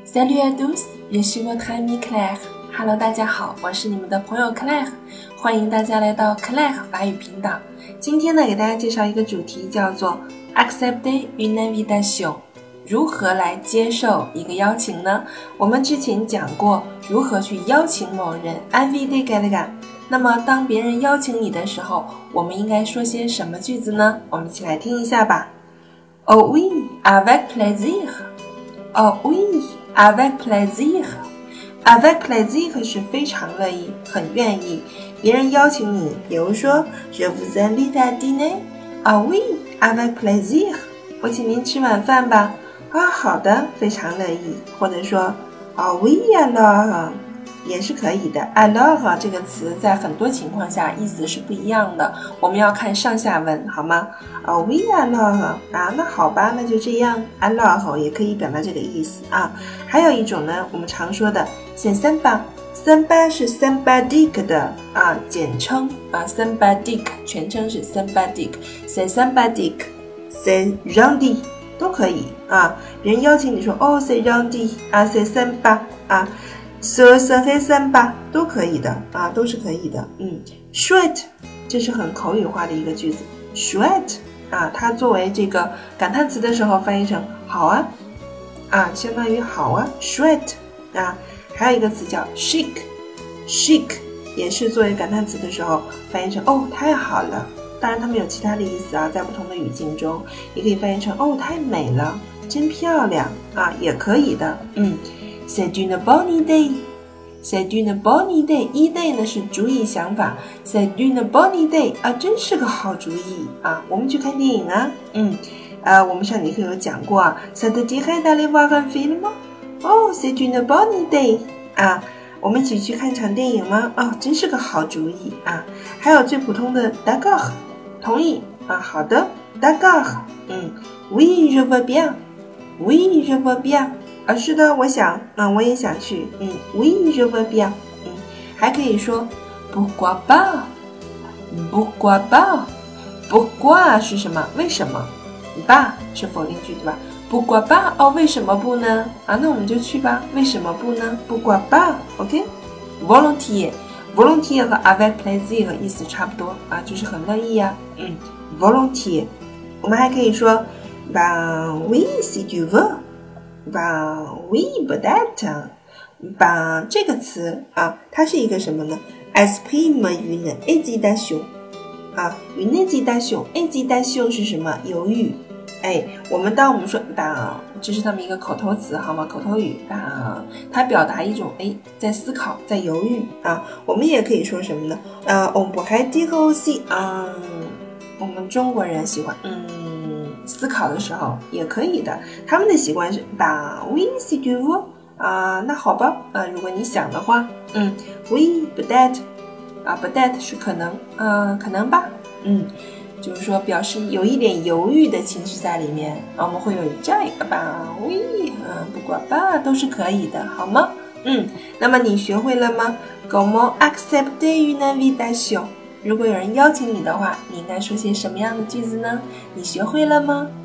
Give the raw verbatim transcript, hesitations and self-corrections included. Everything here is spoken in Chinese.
Salut à tous, je suis votre amie Claire。Hello， 大家好，我是你们的朋友 Claire， 欢迎大家来到 Claire 法语频道。今天呢，给大家介绍一个主题，叫做 Accepter une invitation。如何来接受一个邀请呢？我们之前讲过如何去邀請某人 inviter quelqu'un。那么当别人邀請你的時候，我們應該說些什麼句子呢？我們一起來聽一下吧。Oh oui, avec plaisir. Oh oui, avec plaisir. Avec plaisir 是非常樂意，很願意。別人邀請你，比如說 Je vous invite à dîner. Oh oui, avec plaisir. 我請您吃晚飯吧。啊，好的，非常樂意。或者說 Oh oui alors， 也是可以的。Alors 這個詞在很多情況下意思是不一樣的，我們要看上下文，好嗎？ Oh oui alors 啊，那好吧，那就這樣。Alors 也可以表達這個意思啊。還有一種呢，我們常說的 C'est sympa。sympa 是 sympathique 的啊簡稱啊 sympathique 全稱是 sympathique。C'est sympathique c'est gentil 都可以啊。別人邀請你說哦 c'est gentil 啊 c'est sympa 啊Ce serait sympa 都可以的啊，都是可以的。嗯 chouette 这是很口语化的一个句子 chouette 啊，它作为这个感叹词的时候翻译成好啊啊，相当于好啊 chouette 啊。还有一个词叫 chic chic 也是作为感叹词的时候翻译成哦太好了。当然它们有其他的意思啊，在不同的语境中也可以翻译成哦太美了，真漂亮啊，也可以的。嗯C'est une bonne idée. C'est une bonne idée. Idée 呢是主意想法。C'est une bonne idée 啊，真是个好主意啊！我们去看电影啊，嗯，呃，我们上节课有讲过啊。Ça te dirait d'aller voir un film? Oh, c'est une bonne idée 啊！我们一起去看场电影吗？哦，真是个好主意啊！还有最普通的 d'accord 同意啊，好的 d'accord 嗯 Oui, je veux bien. Oui, je veux bien。啊，是的，我想，嗯，我也想去，嗯 ，Oui, je veux bien， 嗯，还可以说 Pourquoi pas， Pourquoi pas， Pourquoi 是什么？为什么？吧是否定句对吧 ？Pourquoi pas， 哦，为什么不呢？啊，那我们就去吧，为什么不呢 ？Pourquoi pas，OK？Volontiers， volontiers 和 avec plaisir 意思差不多啊，就是很乐意呀，嗯 ，volontiers， 我们还可以说 Ben oui si tu veux。Ben oui, peut-être. Ben 这个词啊，它是一个什么呢 ？Exprime une hésitation 啊 ，une hésitation, hésitation 是什么？犹豫。哎，我们当我们说 ben 这是他们一个口头词，好吗？口头语 ben 它表达一种哎在思考，在犹豫啊。我们也可以说什么呢？呃 ，on pourrait dire aussi 啊、嗯，我们中国人喜欢嗯。思考的时候也可以的，他们的习惯是 Ben oui si tu veux 啊、呃，那好吧啊、呃，如果你想的话，嗯 oui peut-être 啊 peut-être 是可能，嗯、呃，可能吧，嗯，就是说表示有一点犹豫的情绪在里面，啊、我们会有这样一个 Ben oui 啊，不管吧都是可以的，好吗？嗯，那么你学会了吗 ？Comment accepter une invitation？如果有人邀請你的話，你應該說些什麼樣的句子呢？你學會了嗎？